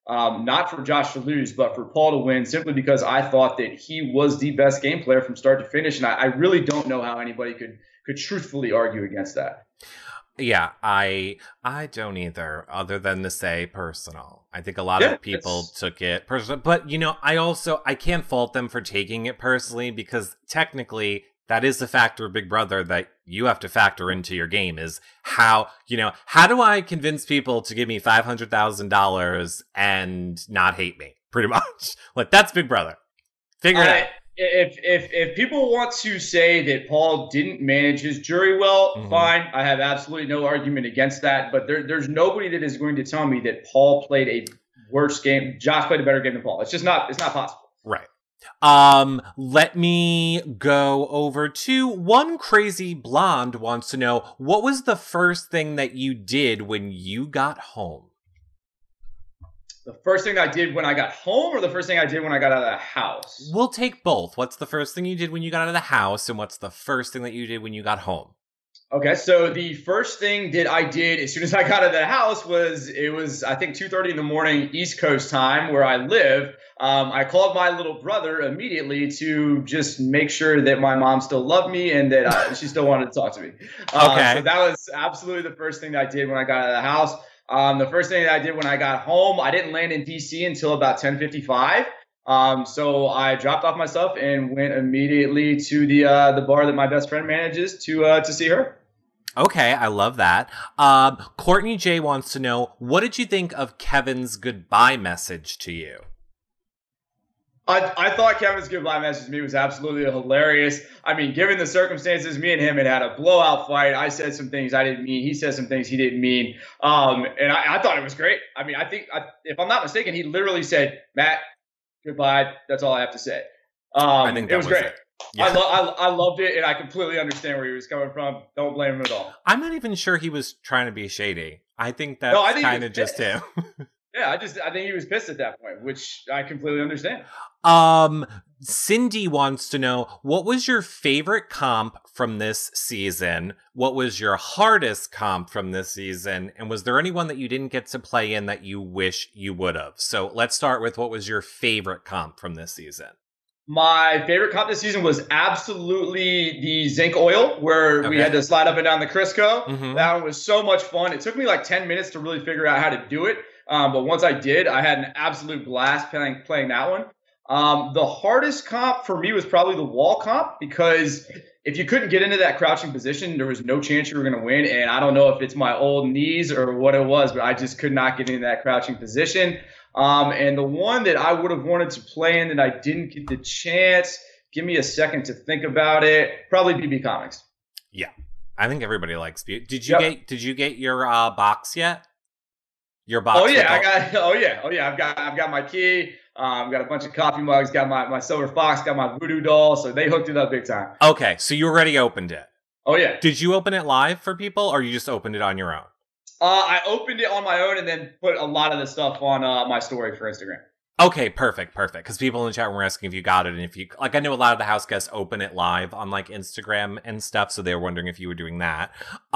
not for Josh to lose, but for Paul to win, simply because I thought that he was the best game player from start to finish, and I really don't know how anybody could truthfully argue against that. Yeah, I don't either, other than to say personal. I think a lot of people took it personal, but I can't fault them for taking it personally, because technically that is the factor of Big Brother that you have to factor into your game, is how do I convince people to give me $500,000 and not hate me? Pretty much. Like, that's Big Brother. Figure it out. If people want to say that Paul didn't manage his jury well, fine. I have absolutely no argument against that. But there's nobody that is going to tell me that Paul played a worse game. Josh played a better game than Paul. It's just not. It's not possible. Right. Let me go over to One Crazy Blonde wants to know, what was the first thing that you did when you got home? The first thing I did when I got home, or the first thing I did when I got out of the house? We'll take both. What's the first thing you did when you got out of the house, and what's the first thing that you did when you got home? Okay, so the first thing that I did as soon as I got out of the house was, I think 2:30 in the morning East Coast time where I live. I called my little brother immediately to just make sure that my mom still loved me and that she still wanted to talk to me. Okay. So that was absolutely the first thing that I did when I got out of the house. The first thing that I did when I got home, I didn't land in DC until about 10:55. So I dropped off my stuff and went immediately to the bar that my best friend manages to see her. Okay, I love that. Courtney J wants to know, what did you think of Kevin's goodbye message to you? I thought Kevin's goodbye message to me was absolutely hilarious. I mean, given the circumstances, me and him had a blowout fight. I said some things I didn't mean. He said some things he didn't mean. And I thought it was great. I mean, I think, if I'm not mistaken, he literally said, "Matt, goodbye. That's all I have to say." I think that it was great. Yeah. I loved it, and I completely understand where he was coming from. Don't blame him at all. I'm not even sure he was trying to be shady. I think that's kind of just him. Yeah, I think he was pissed at that point, which I completely understand. Cindy wants to know, what was your favorite comp from this season? What was your hardest comp from this season? And was there anyone that you didn't get to play in that you wish you would have? So let's start with, what was your favorite comp from this season? My favorite comp this season was absolutely the zinc oil, where we had to slide up and down the Crisco. That one was so much fun. It took me like 10 minutes to really figure out how to do it. But once I did, I had an absolute blast playing that one. The hardest comp for me was probably the wall comp, because if you couldn't get into that crouching position, there was no chance you were going to win. And I don't know if it's my old knees or what it was, but I just could not get into that crouching position. And the one that I would have wanted to play in that I didn't get the chance, give me a second to think about it, probably BB Comics. Yeah, I think everybody likes BB. Did you get your box yet? Your box? Oh yeah, I've got my key. I've got a bunch of coffee mugs. Got my silver fox. Got my voodoo doll. So they hooked it up big time. Okay, so you already opened it. Oh yeah. Did you open it live for people, or you just opened it on your own? I opened it on my own and then put a lot of the stuff on my story for Instagram. Okay, perfect. Because people in the chat were asking if you got it, and if you, like, I know a lot of the house guests open it live on like Instagram and stuff, so they were wondering if you were doing that.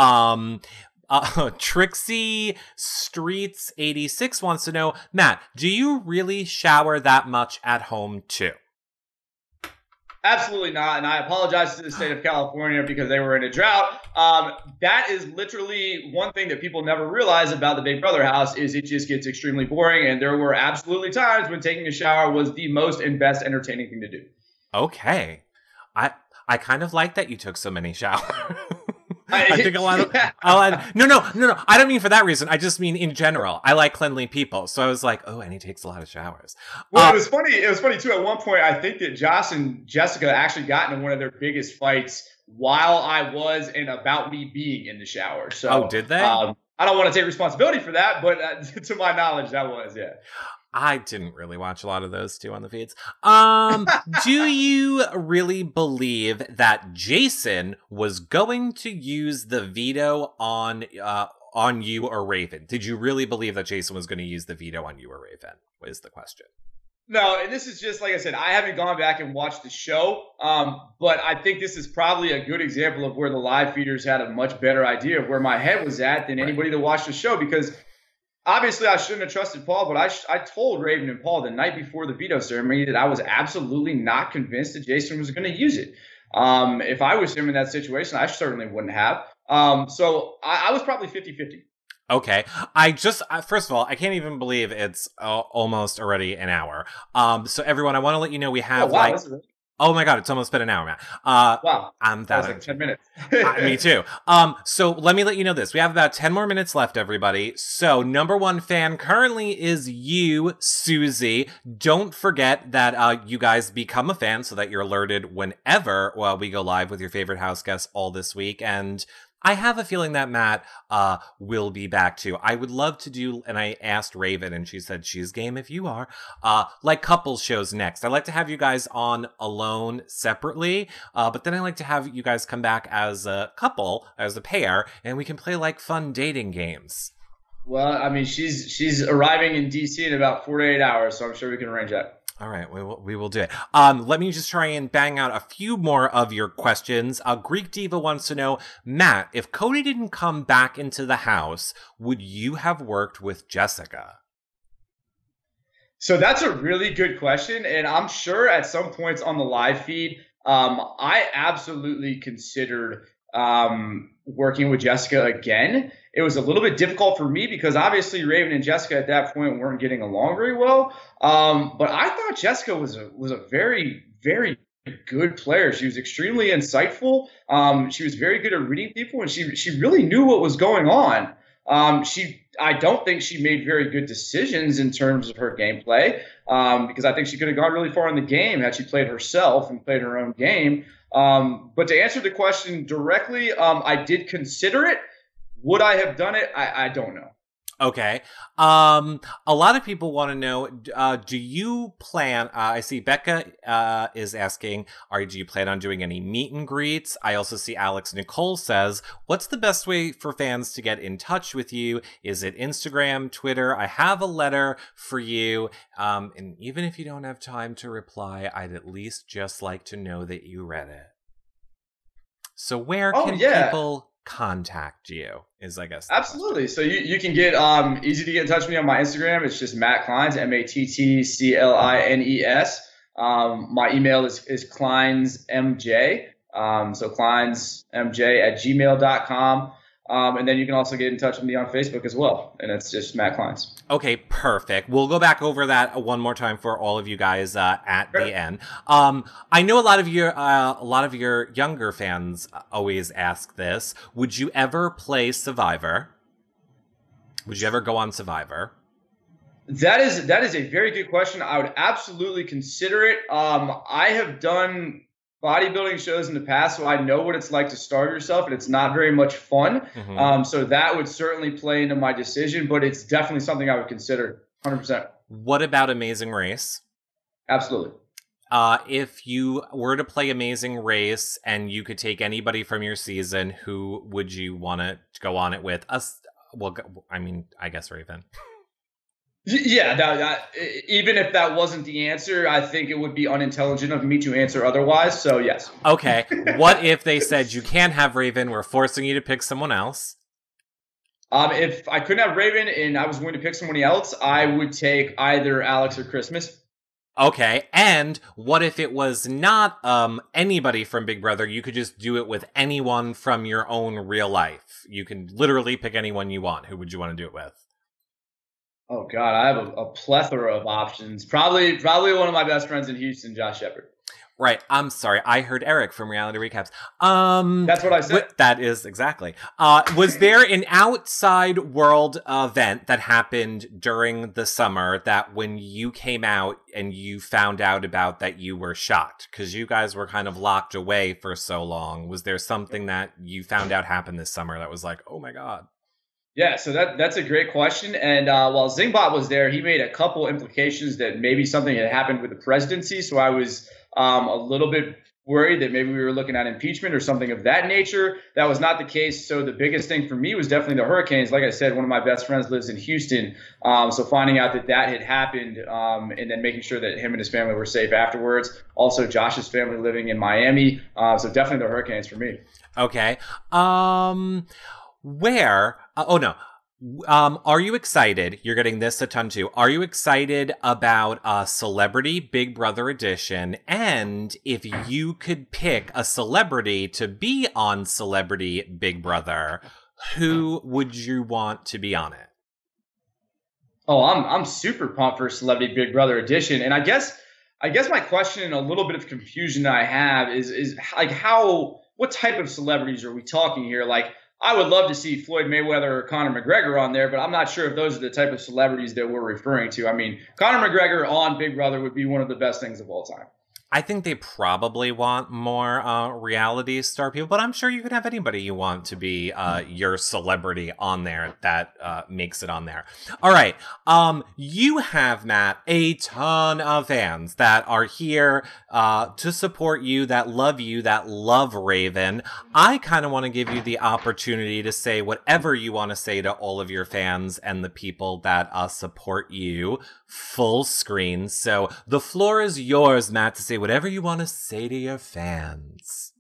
Trixie Streets 86 wants to know, Matt, do you really shower that much at home too? Absolutely not, and I apologize to the state of California because they were in a drought. That is literally one thing that people never realize about the Big Brother house, is it just gets extremely boring, and there were absolutely times when taking a shower was the most and best entertaining thing to do. Okay. I kind of like that you took so many showers. I think a lot of no. I don't mean for that reason. I just mean in general. I like cleanly people, so I was like, oh, and he takes a lot of showers. Well, it was funny. It was funny too. At one point, I think that Josh and Jessica actually got into one of their biggest fights while I was and about me being in the shower. So, did they? I don't want to take responsibility for that, but to my knowledge, that was I didn't really watch a lot of those two on the feeds. Do you really believe that Jason was going to use the veto on you or Raven? Did you really believe that Jason was going to use the veto on you or Raven? Is the question. No, and this is just, like I said, I haven't gone back and watched the show, but I think this is probably a good example of where the live feeders had a much better idea of where my head was at than anybody that watched the show, because obviously I shouldn't have trusted Paul, but I told Raven and Paul the night before the veto ceremony that I was absolutely not convinced that Jason was going to use it. If I was him in that situation, I certainly wouldn't have. So I was probably 50-50. Okay. First of all, I can't even believe it's almost already an hour. So everyone, I want to let you know we have oh my God, it's almost been an hour, Matt. Wow. That was like 10 minutes. Me too. So let me let you know this. We have about 10 more minutes left, everybody. So number one fan currently is you, Susie. Don't forget that you guys become a fan so that you're alerted whenever we go live with your favorite house guests all this week. And I have a feeling that Matt will be back too. I would love to do, and I asked Raven, and she said she's game if you are, like couples shows next. I like to have you guys on alone separately, but then I like to have you guys come back as a couple, as a pair, and we can play like fun dating games. Well, I mean, she's arriving in DC in about 48 hours, so I'm sure we can arrange that. All right, we will do it. Let me just try and bang out a few more of your questions. Greek Diva wants to know, Matt, if Cody didn't come back into the house, would you have worked with Jessica? So that's a really good question, and I'm sure at some points on the live feed, I absolutely considered working with Jessica again. It was a little bit difficult for me because obviously Raven and Jessica at that point weren't getting along very well. But I thought Jessica was a very, very good player. She was extremely insightful. She was very good at reading people, and she really knew what was going on. I don't think she made very good decisions in terms of her gameplay, because I think she could have gone really far in the game had she played herself and played her own game. But to answer the question directly, I did consider it. Would I have done it? I don't know. Okay. A lot of people want to know, do you plan, I see Becca is asking, do you plan on doing any meet and greets? I also see Alex Nicole says, what's the best way for fans to get in touch with you? Is it Instagram, Twitter? I have a letter for you. And even if you don't have time to reply, I'd at least just like to know that you read it. So where can people contact you is, I guess. Absolutely. So you can get easy to get in touch with me on my Instagram. It's just Matt Kleins, MattClines. My email is kleinsmj. So kleinsmj@gmail.com. And then you can also get in touch with me on Facebook as well. And it's just Matt Kleins. Okay, perfect. We'll go back over that one more time for all of you guys at the end. I know a lot of your younger fans always ask this. Would you ever play Survivor? Would you ever go on Survivor? That is a very good question. I would absolutely consider it. I have done bodybuilding shows in the past, so I know what it's like to starve yourself, and it's not very much fun. Mm-hmm. So that would certainly play into my decision, but it's definitely something I would consider 100%. What about Amazing Race? Absolutely. If you were to play Amazing Race and you could take anybody from your season, who would you want to go on it with? Well, I mean, I guess Raven. Yeah, even if that wasn't the answer, I think it would be unintelligent of me to answer otherwise, so yes. Okay, what if they said you can't have Raven, we're forcing you to pick someone else? If I couldn't have Raven and I was going to pick someone else, I would take either Alex or Christmas. Okay, and what if it was not anybody from Big Brother? You could just do it with anyone from your own real life. You can literally pick anyone you want. Who would you want to do it with? Oh God, I have a plethora of options. Probably one of my best friends in Houston, Josh Shepard. Right. I'm sorry. I heard Eric from Reality Recaps. That's what I said. That is exactly. Was there an outside world event that happened during the summer that when you came out and you found out about that you were shocked? Because you guys were kind of locked away for so long. Was there something that you found out happened this summer that was like, oh my God? Yeah, so that's a great question. And while Zingbot was there, he made a couple implications that maybe something had happened with the presidency. So I was a little bit worried that maybe we were looking at impeachment or something of that nature. That was not the case. So the biggest thing for me was definitely the hurricanes. Like I said, one of my best friends lives in Houston. So finding out that had happened and then making sure that him and his family were safe afterwards. Also, Josh's family living in Miami. So definitely the hurricanes for me. Okay. Where? Oh no. Are you excited? You're getting this a ton too. Are you excited about Celebrity Big Brother Edition? And if you could pick a celebrity to be on Celebrity Big Brother, who would you want to be on it? Oh, I'm super pumped for Celebrity Big Brother Edition, and I guess my question and a little bit of confusion that I have is like what type of celebrities are we talking here? Like, I would love to see Floyd Mayweather or Conor McGregor on there, but I'm not sure if those are the type of celebrities that we're referring to. I mean, Conor McGregor on Big Brother would be one of the best things of all time. I think they probably want more reality star people, but I'm sure you can have anybody you want to be your celebrity on there that makes it on there. All right. You have, Matt, a ton of fans that are here to support you, that love Raven. I kind of want to give you the opportunity to say whatever you want to say to all of your fans and the people that support you full screen. So the floor is yours, Matt, to say whatever you want to say to your fans.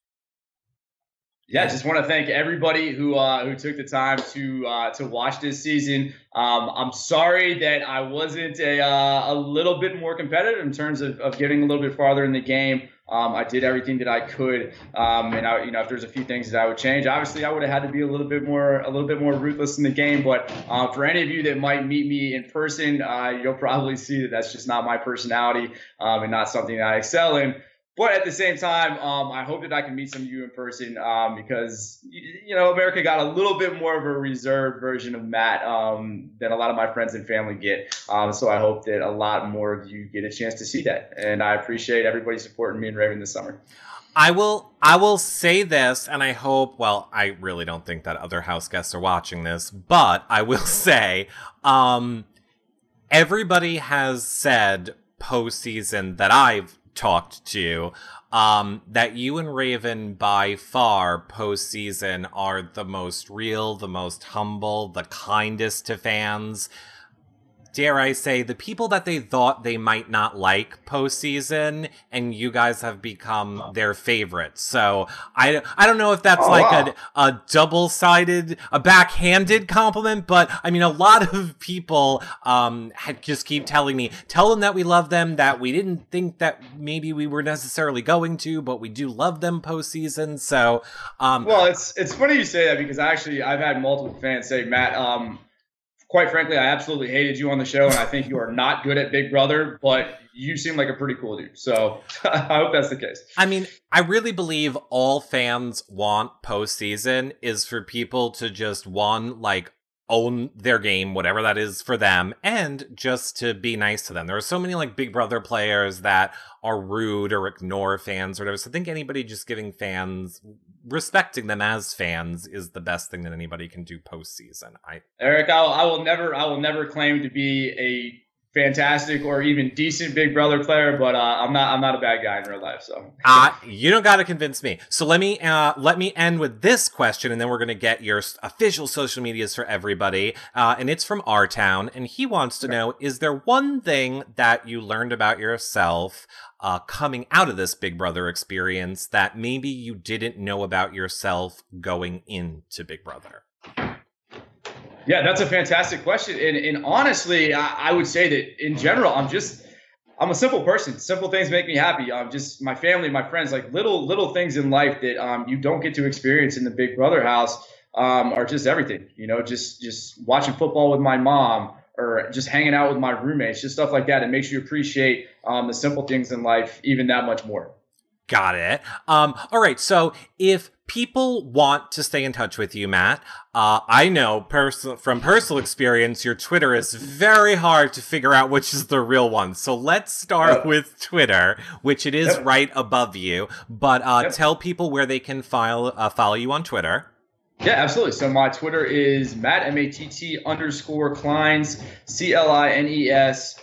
Yeah, just want to thank everybody who took the time to watch this season. I'm sorry that I wasn't a little bit more competitive in terms of getting a little bit farther in the game. I did everything that I could, and if there's a few things that I would change, obviously I would have had to be a little bit more ruthless in the game. But for any of you that might meet me in person, you'll probably see that that's just not my personality, and not something that I excel in. But at the same time, I hope that I can meet some of you in person, because America got a little bit more of a reserved version of Matt than a lot of my friends and family get. So I hope that a lot more of you get a chance to see that. And I appreciate everybody supporting me and Raven this summer. I will say this, and I hope, well, I really don't think that other house guests are watching this, but I will say, everybody has said postseason that I've talked to, that you and Raven by far postseason are the most real, the most humble, the kindest to fans. Dare I say, the people that they thought they might not like postseason, and you guys have become their favorites. So I don't know if that's a double-sided, a backhanded compliment, but I mean, a lot of people just keep telling me, tell them that we love them, that we didn't think that maybe we were necessarily going to, but we do love them postseason. So, well, it's funny you say that, because I've had multiple fans say, Matt, quite frankly, I absolutely hated you on the show, and I think you are not good at Big Brother, but you seem like a pretty cool dude. So I hope that's the case. I mean, I really believe all fans want postseason is for people to just, own their game, whatever that is for them, and just to be nice to them. There are so many Big Brother players that are rude or ignore fans or whatever. So I think anybody just giving fans, respecting them as fans, is the best thing that anybody can do postseason. Eric, I will never claim to be a fantastic or even decent Big Brother player, but I'm not a bad guy in real life. So you don't got to convince me. So let me end with this question, and then we're gonna get your official social medias for everybody. And it's from our town, and he wants to know: is there one thing that you learned about yourself coming out of this Big Brother experience that maybe you didn't know about yourself going into Big Brother? Yeah, that's a fantastic question. And honestly, I would say that in general, I'm a simple person. Simple things make me happy. Just my family, my friends, like little things in life that you don't get to experience in the Big Brother house are just everything. Just watching football with my mom, or just hanging out with my roommates, just stuff like that. It makes you appreciate the simple things in life even that much more. Got it. All right. So if people want to stay in touch with you, Matt, I know from personal experience, your Twitter is very hard to figure out which is the real one. So let's start with Twitter, which it is right above you. But tell people where they can follow you on Twitter. Yeah, absolutely. So my Twitter is Matt, Matt_Clines, CLINES,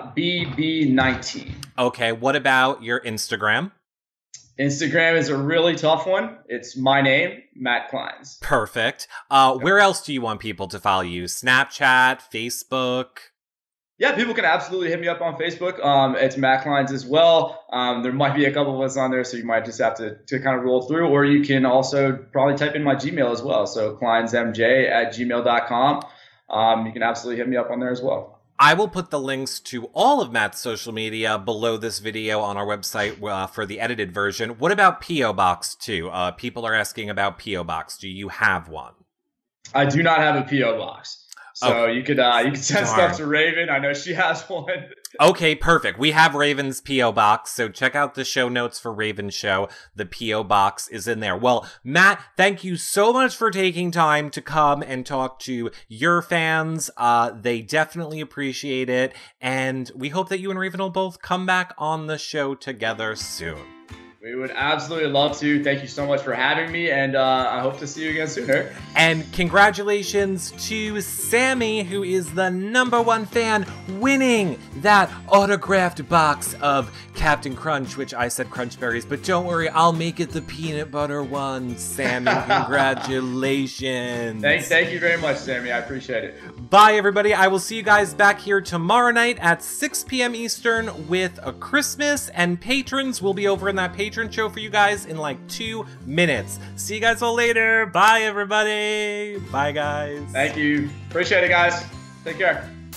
BB19. Okay. What about your Instagram? Instagram is a really tough one. It's my name, Matt Clines. Perfect. Where else do you want people to follow you? Snapchat, Facebook? Yeah, people can absolutely hit me up on Facebook. It's Matt Kleins as well. There might be a couple of us on there, so you might just have to kind of roll through, or you can also probably type in my Gmail as well. So kleinsmj@gmail.com. You can absolutely hit me up on there as well. I will put the links to all of Matt's social media below this video on our website for the edited version. What about P.O. Box 2? People are asking about P.O. Box. Do you have one? I do not have a P.O. Box. So you could send stuff to Raven. I know she has one. Okay, perfect. We have Raven's P.O. Box, so check out the show notes for Raven's show. The P.O. Box is in there. Well, Matt, thank you so much for taking time to come and talk to your fans. They definitely appreciate it, and we hope that you and Raven will both come back on the show together soon. We would absolutely love to. Thank you so much for having me, and I hope to see you again soon, Eric. And congratulations to Sammy, who is the #1 fan, winning that autographed box of Captain Crunch, which I said Crunch Berries, but don't worry, I'll make it the peanut butter one. Sammy, congratulations. Thank you very much, Sammy. I appreciate it. Bye, everybody. I will see you guys back here tomorrow night at 6 p.m. Eastern with a Christmas, and patrons will be over in that patron show for you guys in like 2 minutes. See you guys all later. Bye, everybody. Bye, guys. Thank you. Appreciate it, guys. Take care.